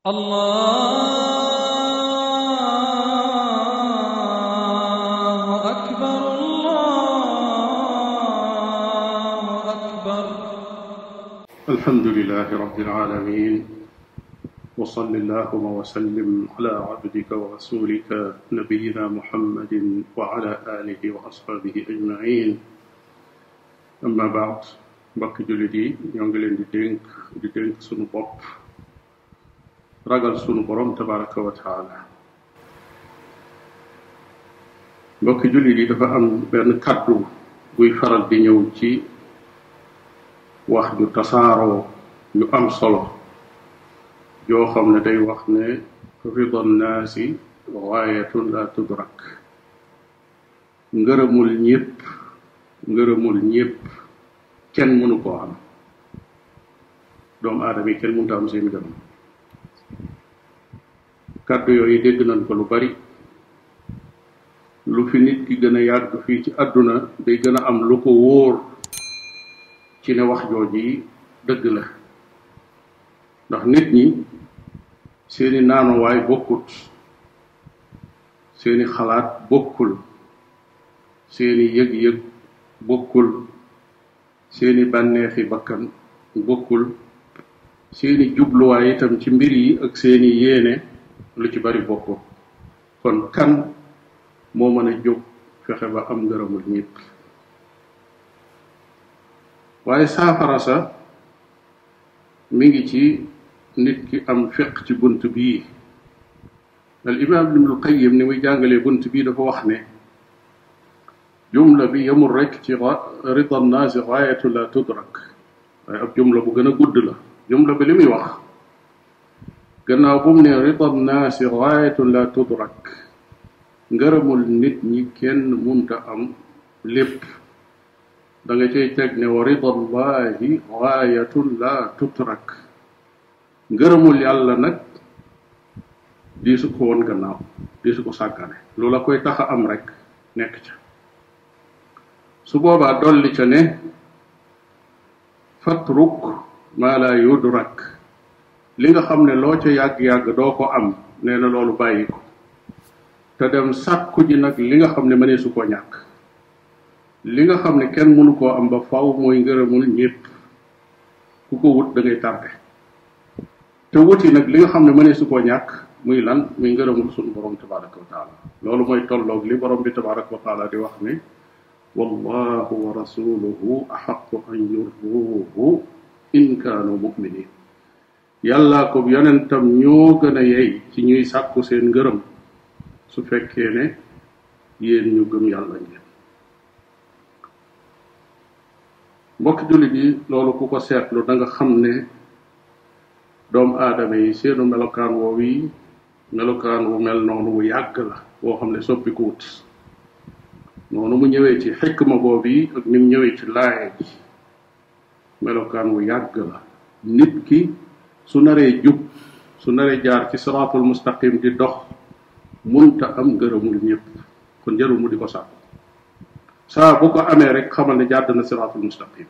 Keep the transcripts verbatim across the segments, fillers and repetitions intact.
الله أكبر الله أكبر. الحمد لله رب العالمين، وصل اللهم وسلم على عبدك ورسولك نبينا محمد وعلى آله وأصحابه أجمعين. أما بعد، mbokk jullit yi ñoo ngi leen di dénk di dénk sunu bopp ragal sunu borom tabaraka wa taala. mbokki jullit yi dafa am benn kàddu buy faral di ñëw ci wax ju tasaaroo yu am solo yoo xam ne day wax ne rida nnaasi gaayatun la tudrak. ngërëmul ñépp ngërëmul ñépp kenn mënu koo am. doomu aadama yi kenn mënut a am seen ngërëm. kàddu yooyu dégg nañ ko lu bari. lu fi nit ki gën a yàgg fii ci àdduna day gën a am lu ko wóor ci ne wax jooji dëgg la. ndax nit ñi seeni naanuwaay bokkut, seeni xalaat bokkul, seeni yëg-yëg bokkul, seeni bànneexi bakkan bokkul, seeni jubluwaay itam ci mbir yi ak seeni yéene lu ci bari bokkul. kon kan moo mën a jóg fexe ba am ngërëmul ñépp? waaye saafara sa mi ngi ci nit ki am fiq ci bunt bii. al imam ibnul qayyim ni muy jàngalee bunt bii dafa wax ne jumla bi yemul rek ci rida nnaasi gaayatu la tudrak, waaye ab jumla bu gën a gudd la. jumla bi li muy wax gannaaw bu mu ne rida nnaasi gaayatu la tudrak, ngërëmul nit ñi kenn munta am lépp, da nga cay teg ne wa rida llahi gaayatu la tutrak, ngërëmul yàlla nag di su ko woon gannaaw, di su ko sàggane. lu la koy tax a am rek nekk ca. su boobaa dolli ca ne fatruk maa la yudrak, li nga xam ne loo ca yàgg-yàgg doo ko am, nee na loolu bàyyi ko te dem sàkku ji nag li nga xam ne mënee su koo ñàkk. li nga xam ne kenn mënu koo am ba faw mooy ngërëmul ñépp. ku ko wut da ngay tardé. te wuti nag li nga xam ne mënee su koo ñàkk muy lan? muy ngërëmul sunu borom tabaraka wa taala. loolu mooy tolloog li borom bi tabaraka wa taala di wax ne wallahu wa rasuluhu axaqu an yurduuhu in kaanu muminin. yàllaa ko yonentam ñoo gën a yey ci ñuy sàkku seen ngërëm su fekkee ne yéen ñu gëm yàlla ngeen. mbokk jullit yi, loolu ku ko seetlu da nga xam ne doomu aadama yi seenu melokaan woowu yi melokaan wu mel noonu wu yàgg la boo xam ne soppi ko wut. noonu mu ñëwee ci xikma boobu yi ak ni mu ñëwee ci laaye ji melokaan wu yàgg la. nit ki su naree jub, su naree jaar ci siraatul mustaqim di dox, munta am ngërëmul ñépp. kon jarul mu di ko sàkku. saa bu ko amee rek xamal ne jàdd na siraatul mustaqim.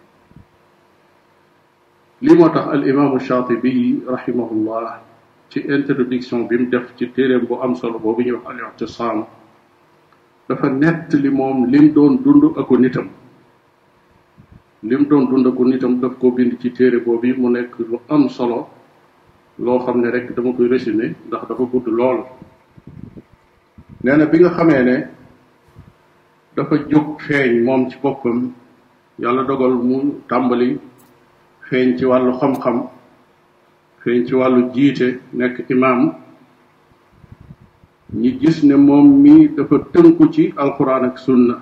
lii moo tax al imaamu Shaatibi rahimahullah ci introduction bi mu def ci téeréem bu am solo boobu ñuy wax al i'tisaam dafa nett li moom lim doon dund ako nitam. lim doon dund ako nitam daf ko bind ci téere boobu mu nekk lu am solo loo xam ne rek dama koy résumé ndax dafa gudd lool. nee na bi nga xamee ne dafa jóg feeñ moom ci boppam, yàlla dogal mu tàmbali feeñ ci wàllu xam-xam, feeñ ci wàllu jiite, nekk imaam. ñi gis ne moom mi dafa tënku ci alquran ak sunna.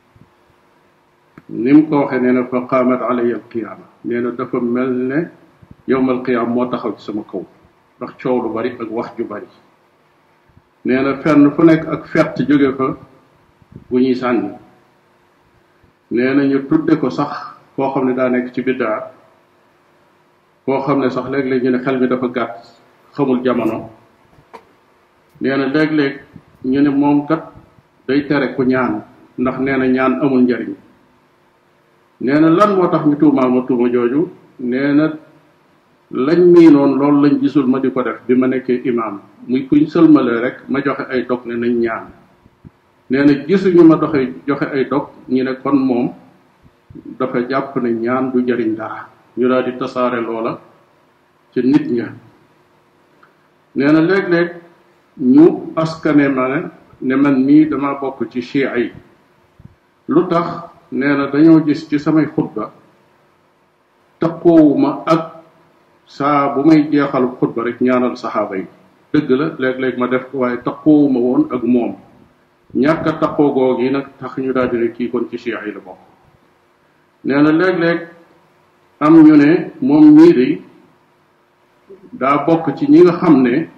ni mu ko waxee nee na fa qaamat alayya alqiyaama, nee na dafa mel ne yowmal qiyaama moo taxaw ci sama kaw ndax coow lu bari ak wax ju bari. nee na fenn fu nekk ak fett jóge fa bu ñuy sànni. nee na ñu tudde ko sax koo xam ne daa nekk ci biddaa, koo xam ne sax léeg-léeg ñu ne xel mi dafa gàtt, xamul jamono. nee na léeg-léeg ñu ne moom kat day tere ku ñaan ndax nee na ñaan amul njariñ. nee na lan moo tax ñu tuumaal ma tuuma jooju? nee na lañ miinoon loolu lañ gisul ma di ko def bi ma nekkee imaam muy kuñ sëlmalee rek ma joxe ay dog ne nañ ñaan nee na gisuñu ma doxe joxe ay dog ñu ne kon moom dafa jàpp ne ñaan du jariñ dara ñu daal di tasaare loola ci nit ña nee na léeg-léeg ñu askane ma ne ne man mii dama bokk ci chia yi lu tax nee na dañoo gis ci samay xutba taqoowuma ak saa bu may jeexal xutba rek ñaanal saxaaba yi dëgg la léeg-léeg ma def ko waaye taqoowuma woon ak moom ñàkk a taqoo goog yi nag tax ñu daal di ne kii kon ci chia yi la bokk nee na léeg-léeg am ñu ne moom mii de daa bokk ci ñi nga xam ne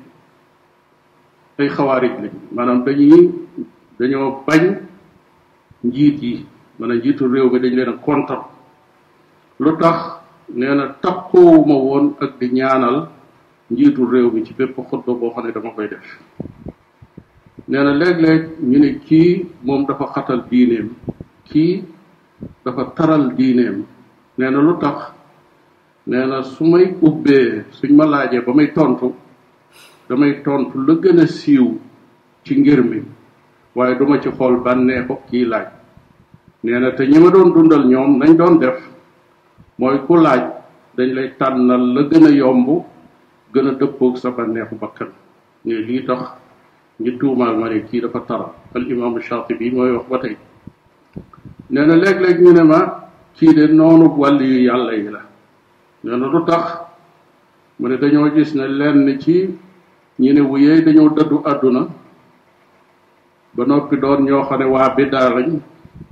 ay xawaarij lañ maanaam dañuy dañoo bañ njiit yi maanaam njiitu réew mi dañ leen a kontar lu tax nee na takkoowuma woon ak di ñaanal njiitu réew mi ci bépp xutba boo xam ne dama koy def nee na léeg-léeg ñu ne kii moom dafa xatal diineem kii dafa taral diineem nee na lu tax nee na su may ubbee suñ ma laajee ba may tontu damay tontu la gën a siiw ci ngir mi waaye duma ci xool bànneexu kii laaj nee na te ñi ma doon dundal ñoom nañ doon def mooy ku laaj dañ lay tànnal la gën a yomb gën a dëppoog sa bànneexu bakkan ne lii tax ñi tuumaal ma ne kii dafa taral al imaamu Shaatibi mooy wax ba tey nee na léeg-léeg ñu ne ma kii de noonu wàll yu yàlla yi la nee na lu tax mu ne dañoo gis ne lenn ci ñi ne wuyee dañoo dëddu àdduna ba noppi doon ñoo xam ne waa biddaa lañ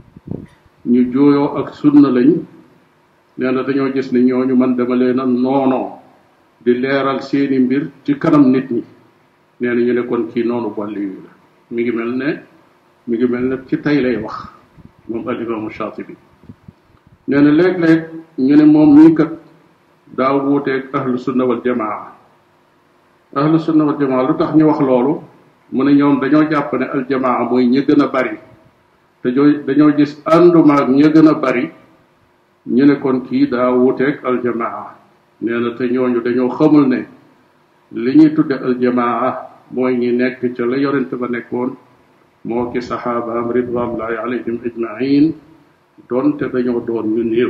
ñu jooyoo ak sunna lañ nee na dañoo gis ne ñooñu man dama leen a noonoo di leeral seeni mbir ci kanam nit ñi nee na ñu ne kon kii noonu wàlli yu la mi ngi mel ne mi ngi mel ne ci tey lay wax moom al imaamu Shaatibi nee na léeg-léeg ñu ne moom mii kat daa wuuteeg ahlu sunna wal jamaa ahlu sunna wal jamaa lu tax ñu wax loolu mu ne ñoom dañoo jàpp ne al jamaa mooy ñi gën a bari te dañoo gis àndumaag ñi gën a bari ñu ne kon kii daa wuuteeg al jamaa nee na te ñooñu dañoo xamul ne li ñuy tudde al jamaa mooy ñi nekk ca la yorente ba nekkoon moo ki saxaabaam ridwanullahi alayhim ajmain doonte dañoo doon ñu néew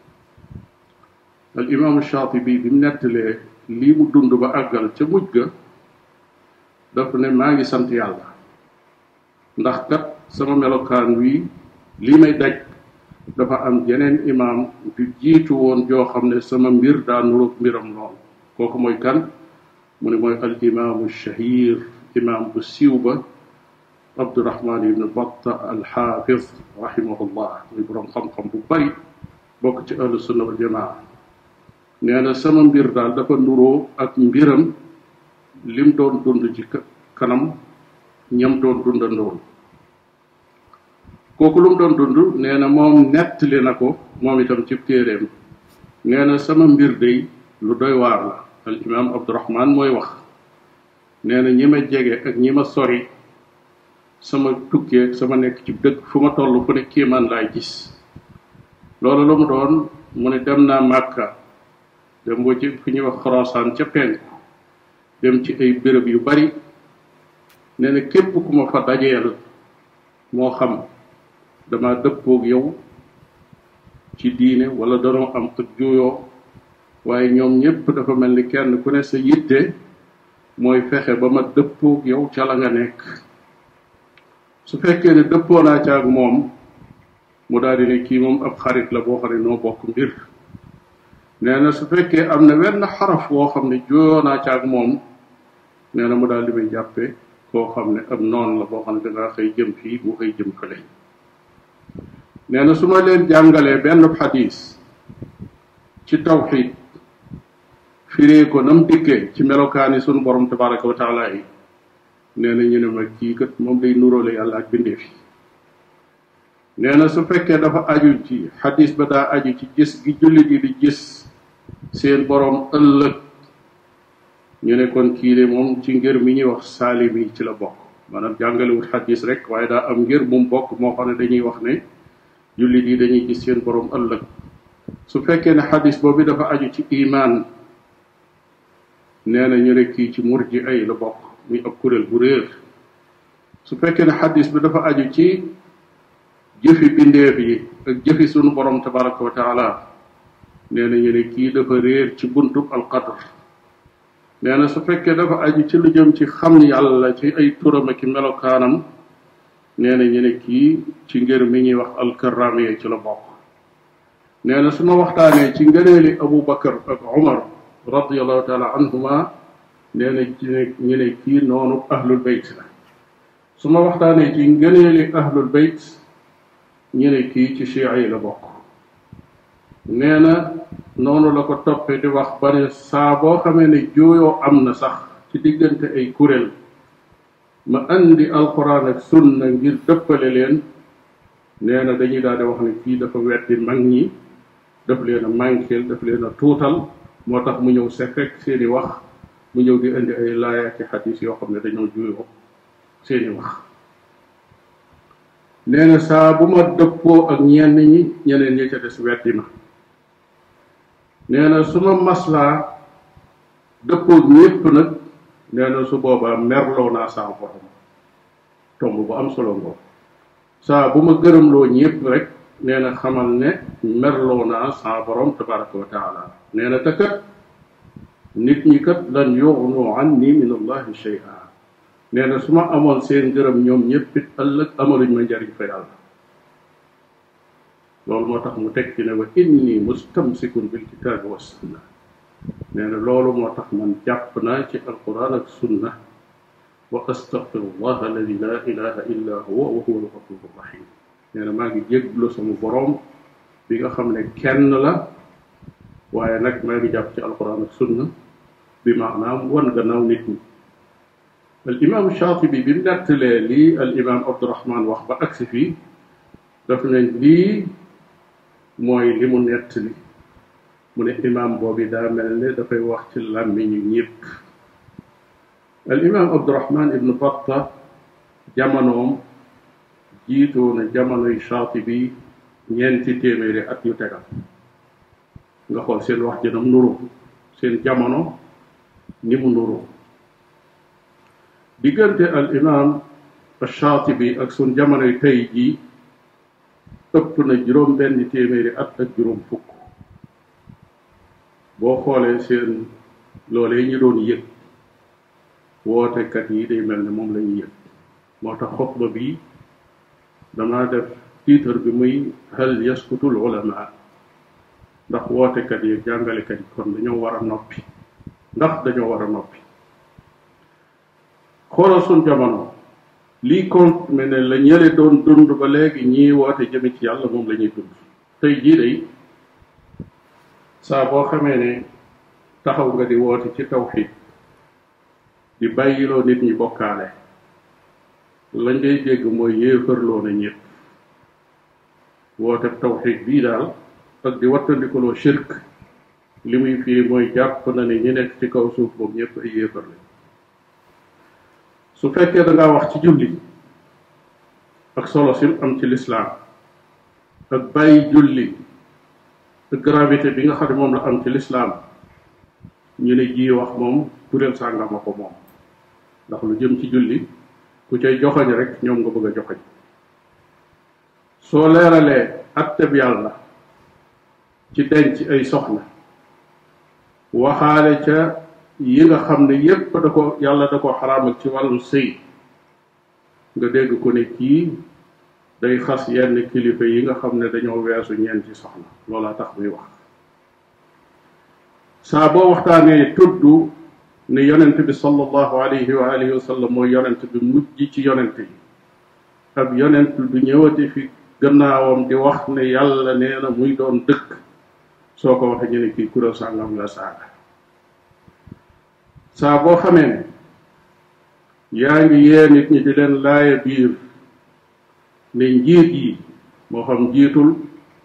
al imaamu Shaatibi bi mu nettalee lii mu dund ba àggal ca mujj ga daf ne maa ngi sant yàlla ndax kat sama melokaan wi lii may daj dafa am jeneen imaam du jiitu woon joo xam ne sama mbir daa nuroog mbiram lool kooku mooy kan mu ne mooy al imaamu shahir imaam bu siiw ba Abdurahman ibn Batta al xaafis rahimahullah muy boroom xam-xam bu bari bokk ci ahlu sunna wal jamaa nee na sama mbir daal dafa nuroo ak mbiram lim doon dund ci kanam ñam doon dundandoon kooku lu mu doon dund nee na moom nettali na ko moom itam ci téeréem nee na sama mbir day lu doy waar la al imam Abdurahman mooy wax nee na ñi ma jege ak ñi ma sori sama tukkee sama nekk ci dëkk fu ma toll fu ne kéemaan laay gis loolu lu mu doon mu ne dem naa Màkka dem boo ci fu ñuy wax Xorasaan ca penku dem ci ay béréb yu bari nee na képp ku ma fa dajeel moo xam dama dëppoog yow ci diine wala danoo am ak juyoo waaye ñoom ñépp dafa mel ni kenn ku ne sa yitte mooy fexe ba ma dëppoog yow ca la nga nekk su fekkee ne dëppoo naa ca ak moom mu daal di ne kii moom ab xarit la boo xam ne noo bokk mbir nee na su fekkee am na wenn xaraf woo xam ne juyoo naa ca ak moom nee na mu daal di may jàppe koo xam ne ab noon la boo xam ne dangaa xëy jëm fii mu xëy jëm fële nee na su ma leen jàngalee benn xadis ci tawxid firee ko nam dikkee ci melokaani sunu borom tabaraka wa taala yi nee na ñu ne ma kii kat moom day nuróole yàlla ak bindee fi nee na su fekkee dafa aju ci xadis ba daa aju ci gis gi jullit yi di gis seen borom ëllëg ñu ne kon kii de moom ci ngir mi ñuy wax saalim yi ci la bokk maanaam jàngalewut xadis rek waaye daa am ngir mu bokk moo xam ne dañuy wax ne jullit yi dañuy gis seen borom ëllëg su fekkee ne xadis boobu dafa aju ci imaan nee na ñu ne kii ci murji ay la bokk muy ab kuréel bu réer su fekkee ne xadis bi dafa aju ci jëfi bindeef yi ak jëfi sunu borom tabaraka wa taala nee na ñu ne kii dafa réer ci buntub alqadr nee na su fekkee dafa aju ci lu jëm ci xam yàlla ci ay turam ak melokaanam nee na ñu ne kii ci ngër mi ñuy wax alkaramiya ci la bokk nee na su ma waxtaanee ci ngëneeli Abu Bakar ak Umar radiallahu taala anhuma nee na ci ne ñu ne kii noonu ahlul bayt la su ma waxtaanee ci ngëneeli ahlul bayt ñu ne kii ci chia yi la bokk nee na noonu la ko toppee di wax ba ne saa boo xamee ne jooyoo am na sax ci diggante ay kuréel ma andi alquran ak sunna ngir dëppale leen nee na dañuy daal di wax ne kii dafa weddi mag ñi daf leen a manqueel daf leen a tuutal moo tax mu ñëw se fekk seeni wax mu ñëw di indi ay laaya ci xadis yoo xam ne dañoo juyoo seeni wax nee na saa bu ma dëppoo ak ñenn ñi ñeneen ñi ca des weddi ma nee na su ma maslaa dëppoo ñépp nag nee na su boobaa merloo naa saa borom tomb bu am solo ngoo saa bu ma gërëmloo ñépp rek nee na xamal ne merloo naa saa borom tabaraka wa taala nee na te kat nit ñi kat lan yughnu anni min allahi shay'a nee na su ma amoon seen gërëm ñoom ñépp it ëllëg amaluñ ma njariñ fa yàlla loolu moo tax mu teg ci ne wa inni mustamsikun bil kitaabi wa sunna nee na loolu moo tax man jàpp naa ci alquran ak sunna wa astaghfirullah alladi la ilaha illa huwa wa huwa al-ghafuru rahim nee na maa ngi jégglu sama boroom bi nga xam ne kenn la waaye nag maa ngi jàpp ci alquran ak sunna bi maanaam wan gannaaw nit ñi al imam Shaatibi bi mu nettalee lii al imam Abdurahman wax ba agsi fii daf ne lii mooy li mu nettali mu ne imam boobi daa mel ne dafay wax ci làmmiñu ñépp al imam Abdurahman ibnu Batta jamonoom jiitoo na jamonoy Shaatibi ñeenti téeméeri at yu tegal nga xool seen wax jënam nuru seen jamono ni mu nuru diggante al imam Shaatibi ak sun jamonoy tey jii ëpp na juróom benn téeméeri at ak juróom fukk boo xoolee seen loolee ñu doon yëg wootekat yi day mel ne moom la ñuy yëg moo tax xutba bi damaa def titre bi muy hal yaskutul ulama ndax wootekat yi jàngalekat yi kon dañoo war a noppi ndax dañoo war a noppi xoolal suñ jamono lii compte mais ne la ñële doon dund ba léegi ñii woote jëme ci yàlla moom la ñuy dund tey jii day saa boo xamee ne taxaw nga di woote ci tawxiid di bàyyiloo nit ñi bokkaale lañ ngay dégg mooy yéefarloo na ñépp woote tawxiid bii daal ak di wattandikuloo shirk li muy firi mooy jàpp na ne ñi nekk ci kaw suuf boobu ñépp ay yéefar la su fekkee da ngaa wax ci julli ak solo sim am ci lislaam ak bàyyi julli ak gravité bi nga xam ne moom la am ci lislaam ñu ne ji wax moom kuréel sàngama ko moom ndax lu jëm ci julli ku cay joxoñ rek ñoom nga bëgg a joxoñ soo leeralee atteb yàlla ci denc ay soxna waxaale ca yi nga xam ne yépp da ko yàlla da ko xaraamal ci wàllu sëy nga dégg ko ne kii day xas yenn kilifa yi nga xam ne dañoo weesu ñeenti soxna loolaa tax muy wax saa boo waxtaanee tudd ne yonent bi sallallahu alayhi wa alihi wa sallam mooy yonent bi mujj ci yonent yi ab yonent du ñëwati fi gannaawam di wax ne yàlla nee na muy doon dëkk soo ko waxee ñu ne kii kuréel sàngam la saaga saa boo xamee ne yaa ngi yee nit ñi di leen laaya biir ne njiit yi moo xam njiitul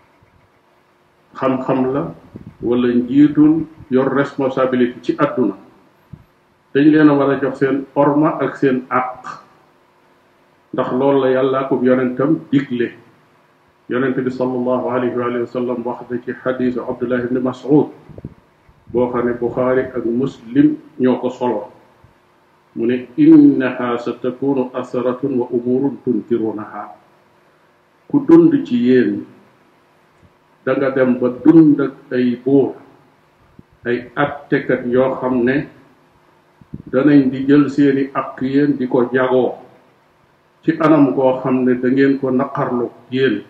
xam-xam la wala njiitul yor responsabilité ci àdduna dañ leen a war a jox seen orma ak seen àq ndax loolu la yàlla ko yonentam digle yonent bi sallallahu alayhi wa sallam wax na ci xadiisu Abdullah ibn Mas'ud boo xam ne Buxaari ak Muslim ñoo ko solo mu ne innaha sa takunu asaratun wa umurun tunkirunaha ku dund ci yéen da nga dem ba dund ak ay buur ay attekat yoo xam ne danañ di jël seeni ak yéen di ko jagoo ci anam koo xam ne da ngeen ko naqarlu yéen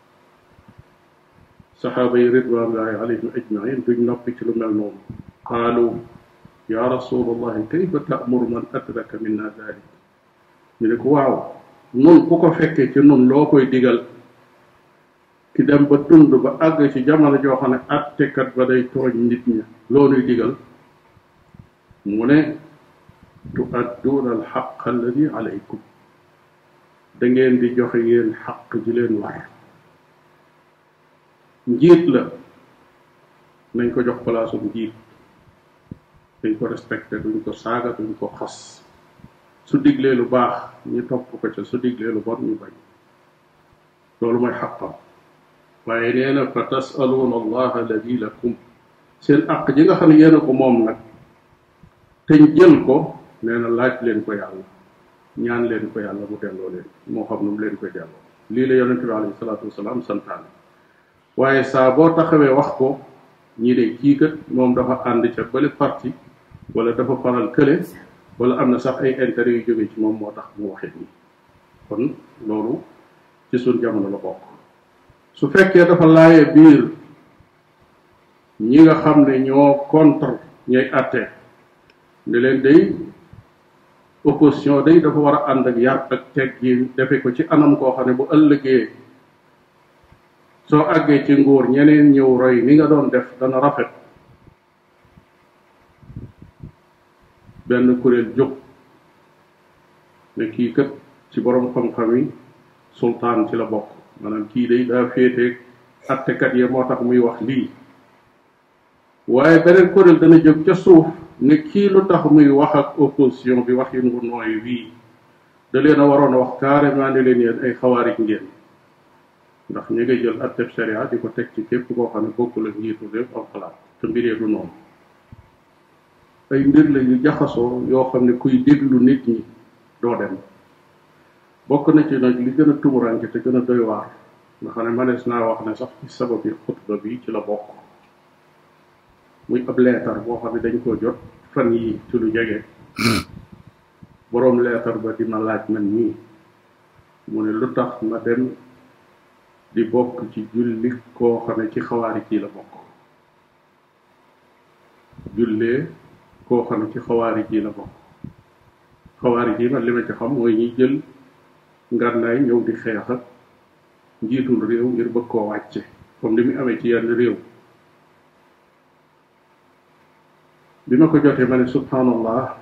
saxaaba yi ridwanullahi alayhim ajmain duñ noppi ci lu mel noonu qaalu ya rasulallahi kayfa ta'muru man adraka minna dalik ñu ne ko waaw nun ku ko fekkee ci nun loo koy digal ki dem ba dund ba àgg ci jamono joo xam ne attekat ba day tooñ nit ña loo nuy digal mu ne tuadduuna alxaq alladi alaykum da ngeen di joxe yéen xaq ji leen war njiit la nañ ko jox palaasu njiit dañ ko respecté duñ ko saaga duñ ko xas su diglee lu baax ñu topp ko ca su diglee lu bon ñu bañ loolu mooy xaqam waaye nee na fa tasaluuna allah alladi lakum seen aq ji nga xam ne yéen a ko moom nag teñ jël ko nee na laaj leen ko yàlla ñaan leen ko yàlla mu delloo leen moo xam nu mu leen koy delloo lii la yonente bi alayhi salaatu wasalaam santaane waaye saa boo taxawee wax ko ñii de kii kat moom dafa ànd ca bële parti wala dafa faral kële wala am na sax ay intérêt yu jóge ci moom moo tax mu waxee nii kon loolu ci suñ jamono la bokk su fekkee dafa laaye biir ñi nga xam ne ñoo contre ñooy àtte ne leen day opposition day dafa war a ànd ak yar ak teggin defe ko ci anam koo xam ne bu ëllëgee soo àggee ci nguur ñeneen ñëw roy ni nga doon def dana rafet benn kuréel jóg ne kii kat ci borom xam-xam yi sultaan ci la bokk maanaam kii day daa féeteeg attekat yi moo tax muy wax lii waaye beneen kuréel dana jóg ca suuf ne kii lu tax muy wax ak opposition bi wax yi ngu nooy wii da leen a waroon a wax carrément ne leen yéen ay xawaarij ngeen ndax ñu ngay jël atteb sharia di ko teg ci képp koo xam ne bokkul ak njiitu réew am xalaat te mbiree du noonu ay mbir la yu jaxasoo yoo xam ne kuy déglu nit ñi doo dem bokk na ci nag li gën a tumuranke te gën a doy waar nga xam ne manees naa wax ne sax ci sabab yi xutba bi ci la bokk muy ab leetar boo xam ne dañ koo jot fan yi ci lu jege boroom leetar ba di ma laaj man nii mu ne lu tax ma dem di bokk ci julli koo xam ne ci xawaari kii la bokk jullee koo xam ne ci xawaari kii la bokk xawaari kii man li ma ci xam mooy ñi jël ngànnaay ñëw di xeex ak njiitul réew ngir bëgg koo wàcce comme li mu amee ci yenn réew bi ma ko jotee ma ne subhanallah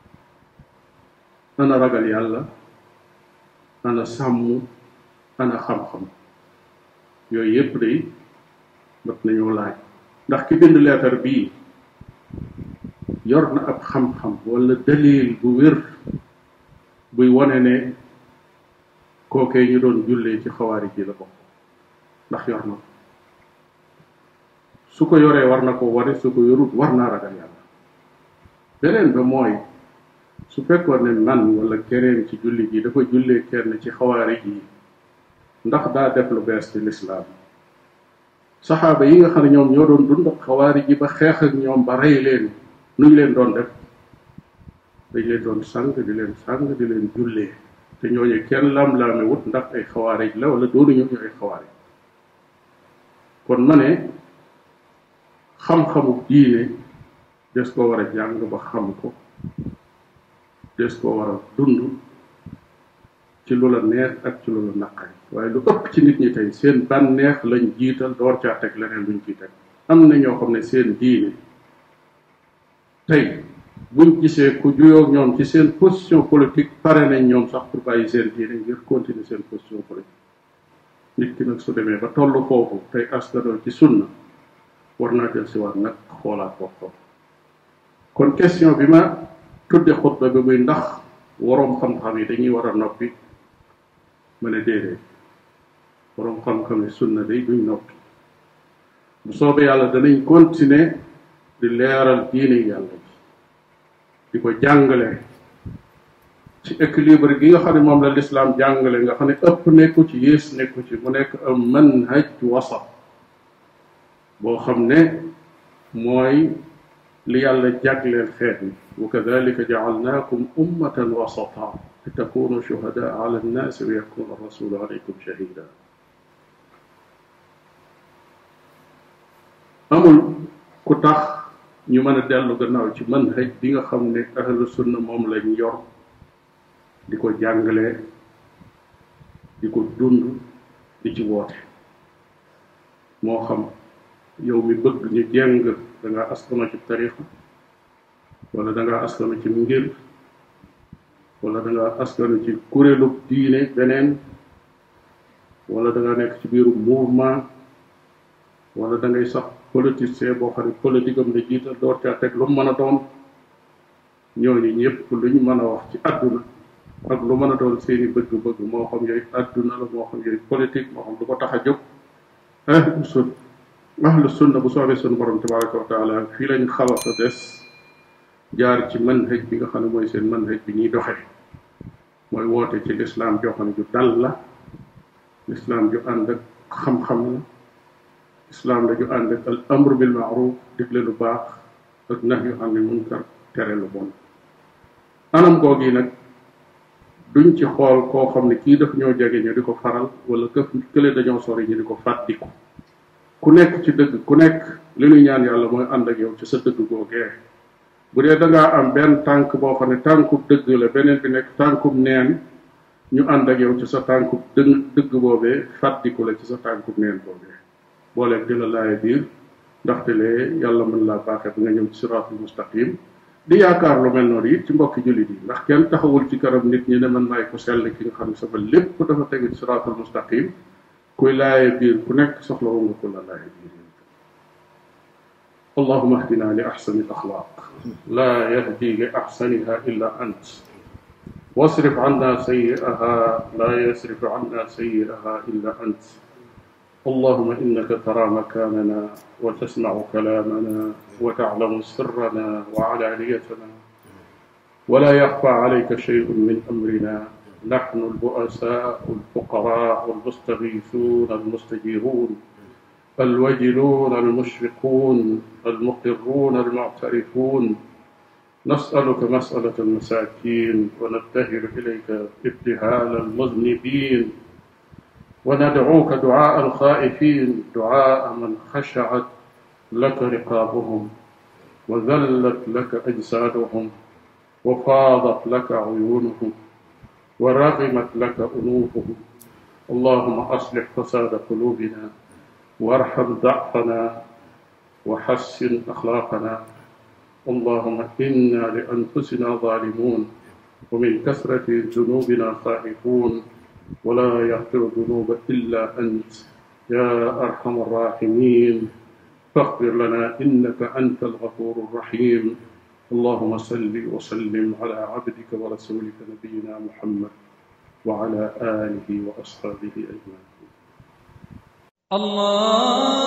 ana ragal yàlla ana sàmm ana xam-xam yooyu yépp day mat nañoo laaj ndax ki bind leetar bii yor na ab xam-xam wala dalil bu wér buy wone ne kookee ñu doon jullee ci xawaari ji la bokk ndax yor na su ko yoree war na ko ware su ko yorut war naa ragal yàlla beneen ba mooy su fekkoon ne man wala keneen ci julli ji dafa jullee kenn ci xawaari ji ndax daa def lu bees ci lislaam saxaaba yi nga xam ne ñoom ñoo doon dund ak xawaari ji ba xeex ak ñoom ba rey leen nuñ leen doon def dañ leen doon sang di leen sang di leen jullee te ñooñu kenn lam-laame wut ndax ay xawaarij la wala doonu ñoom ñu ay xawaarij kon ma ne xam-xamu diine des ko war a jàng ba xam ko des ko war a dund ci lu la neex ak ci lu la naqari waaye lu ëpp ci nit ñi tey seen bànneex lañ jiital door caa teg leneen luñ ciy teg am na ñoo xam ne seen diine tey buñ gisee ku juyoog ñoom ci seen position politique pare nañ ñoom sax pour bàyyi seen diine ngir continuer seen position politique nit ki nag su demee ba tollu foofu tey askanoo ci sunna war naa del si waat nag xoolaat boppam kon question bi ma tudde xutba bi muy ndax waroom xam-xam yi dañuy war a noppi ma ne déedéet waroom xam-xam yi sunna day duñ noppi bu soobee yàlla danañ continuer di leeral diine yàlla ji di ko jàngale ci équilibre gi nga xam ne moom la lislaam jàngale nga xam ne ëpp nekku ci yées nekku ci mu nekk am manhaj wasat boo xam ne mooy li yàlla jagleel xeet yi wa kadalika jaalnaakum ummatan wasata li takunu shuhadaa ala annaasi wa yakuna rasulu alaykum shahida amul ku tax ñu mën a dellu gannaaw ci manhaj bi nga xam ne ahlu sunna moom lañ yor di ko jàngale di ko dund di ci woote moo xam yow mi bëgg ñu jeng da ngaa askano ci tariqa wala da ngaa askano ci ngir wala da ngaa askano ci kuréelu diine beneen wala da nga nekk ci biiru mouvement wala da ngay sax politicien boo xam ne politique am la jiital door caa teg lu mu mën a doon ñooñu ñëpp luñ mën a wax ci àdduna ak lu mën a doon seeni bëgg-bëgg moo xam yooyu àdduna la moo xam yooyu politique moo xam lu ko tax a jóg ahlu sunna ahlu sunna bu soobee sunu borom tabaraka wa taala fii lañ xalasa des jaar ci manhaj bi nga xam ne mooy seen manhaj bi ñuy doxe mooy woote ci lislaam joo xam ne ju dal la lislaam ju ànd ak xam-xam la islaam la ju ànd ak al amru bil maaruf digle lu baax ak nahyu anil munkar tere lu bon anam googi nag duñ ci xool koo xam ne kii daf ñoo jege ñu di ko faral wala këf kële dañoo sori ñu di ko fàttiku ku nekk ci dëgg ku nekk li ñuy ñaan yàlla mooy ànd ak yow ci sa dëgg googee bu dee da ngaa am benn tànk boo xam ne tànkub dëgg la beneen bi nekk tànkub neen ñu ànd ak yow ci sa tànkub dëgg dëgg boobee fàttiku la ci sa tànkub neen boobee booleeg di la laaye biir ndaxte lee yàlla mën laa baaxee ba nga ñëw ci siraatul mustaqim di yaakaar lu mel noonu it ci mbokki jullit yi ndax kenn taxawul ci kanam nit ñi ne man maay ko sell ki nga xam ne sama lépp dafa tegu ci siraatul mustaqim kuy laaye biir ku nekk soxla wu nga ko la laaye biir allahuma ahdina li axsani al axlaaq laa yahdi li axsaniha illa ant wasrif anna sayyi'aha laa yasrif anna sayyi'aha illa ant اللهم إنك ترى مكاننا وتسمع كلامنا وتعلم سرنا وعلانيتنا ولا يخفى عليك شيء من أمرنا نحن البؤساء الفقراء المستغيثون المستجيرون الوجلون المشفقون المقرون المعترفون نسألك مسألة المساكين ونبتهل إليك ابتهال المذنبين وندعوك دعاء الخائفين دعاء من خشعت لك رقابهم وذلت لك أجسادهم وفاضت لك عيونهم ورغمت لك أنوفهم اللهم أصلح فساد قلوبنا وارحم ضعفنا وحسن أخلاقنا اللهم إنا لأنفسنا ظالمون ومن كثرة ذنوبنا خائفون ولا يغفر الذنوب إلا أنت يا أرحم الراحمين فاغفر لنا إنك أنت الغفور الرحيم اللهم صل وسلم على عبدك ورسولك نبينا محمد وعلى آله وأصحابه أجمعين. الله